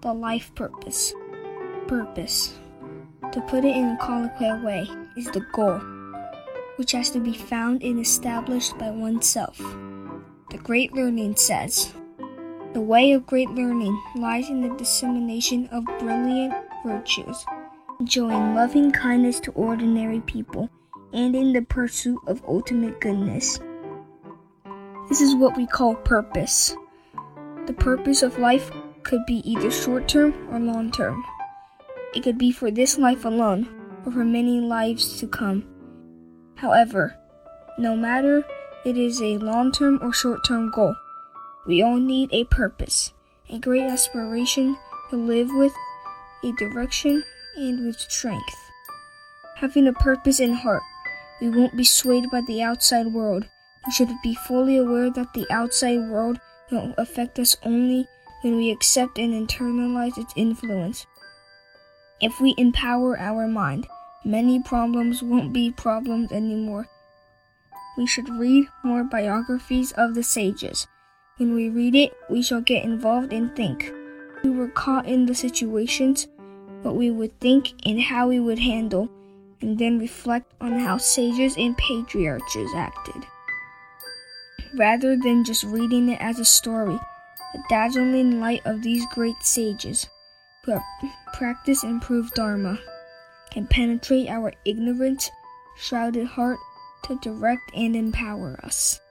the life purpose. Purpose, to put it in a colloquial way, is the goal, which has to be found and established by oneself. The Great Learning says, "The way of great learning lies in the dissemination of brilliant virtues, showing loving kindness to ordinary people, and in the pursuit of ultimate goodness." This is what we call purpose. The purpose of life could be either short-term or long-term. It could be for this life alone, or for many lives to come. However, no matter it is a long-term or short-term goal, we all need a purpose, a great aspiration to live with, a direction, and with strength. Having a purpose in heart, we won't be swayed by the outside world. We should be fully aware that the outside world will affect us only when we accept and internalize its influence. If we empower our mind, many problems won't be problems anymore. We should read more biographies of the sages. When we read it, we shall get involved and think. If we were caught in the situations, what we would think and how we would handle, and then reflect on how sages and patriarchs acted. Rather than just reading it as a story, the dazzling light of these great sages, who have practiced and proved Dharma, can penetrate our ignorant, shrouded heart to direct and empower us.